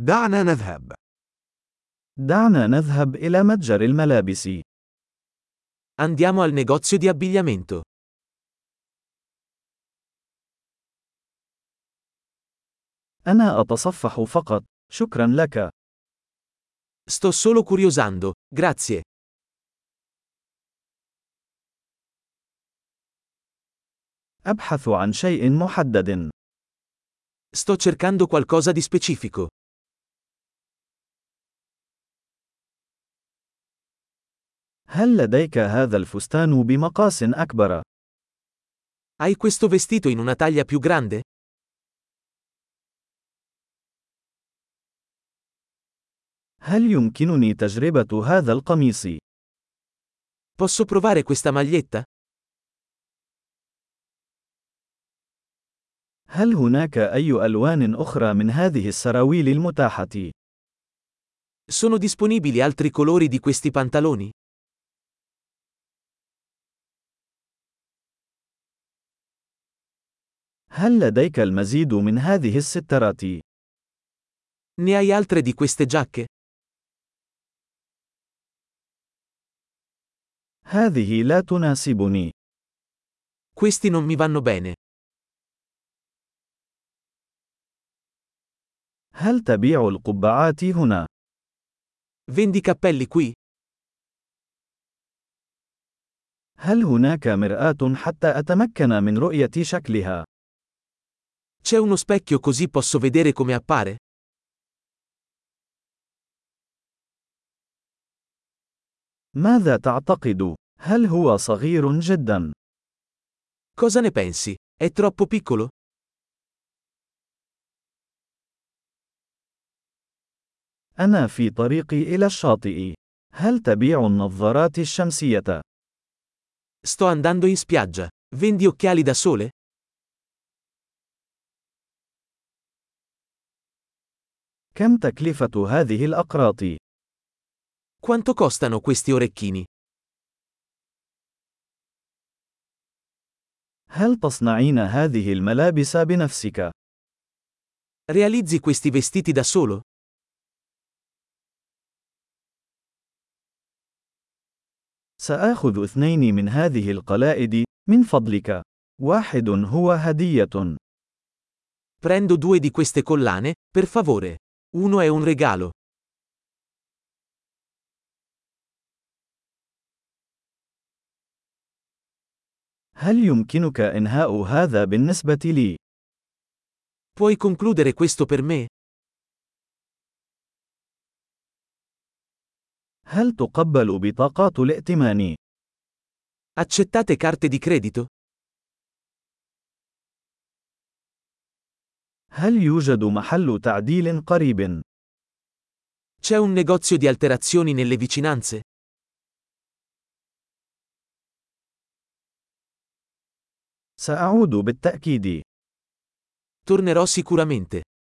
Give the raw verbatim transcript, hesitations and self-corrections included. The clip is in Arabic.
دعنا نذهب. دعنا نذهب إلى متجر الملابس. Andiamo al negozio di abbigliamento. أنا أتصفح فقط، شكرا لك. Sto solo curiosando, grazie. أبحث عن شيء محدد. Sto cercando qualcosa di specifico. هل لديك هذا الفستان بمقاس أكبر؟ Hai questo vestito in una taglia più grande? هل يمكنني تجربة هذا القميص؟ Posso provare questa maglietta? هل هناك أي ألوان أخرى من هذه السراويل المتاحة؟ Sono disponibili altri colori di questi pantaloni? هل لديك المزيد من هذه السترات؟ Ne hai altre di queste giacche? هذه لا تناسبني. Questi non mi vanno bene. هل تبيع القبعات هنا؟ Vendi cappelli qui? هل هناك مرآة حتى أتمكن من رؤية شكلها؟ C'è uno specchio così posso vedere come appare? ماذا تعتقد؟ هل هو صغير جدا؟ Cosa ne pensi? È troppo piccolo? أنا في طريقي إلى الشاطئ. هل تبيع النظارات الشمسية؟ Sto andando in spiaggia. Vendi occhiali da sole? كم تكلفة هذه الأقراط؟ Quanto costano questi orecchini? هل تصنعين هذه الملابس بنفسك؟ Realizzi questi vestiti da solo? سآخذ اثنين من هذه القلائد، من فضلك. واحد هو هدية. Prendo due di queste collane, per favore. Uno è un regalo. هل يمكنك إنهاء هذا بالنسبة لي؟ Puoi concludere questo per me? هل تقبل بطاقات الائتمان؟ Accettate carte di credito? هل يوجد محل تعديل قريب؟ C'è un negozio di alterazioni nelle vicinanze? سأعود بالتأكيد. Tornerò sicuramente.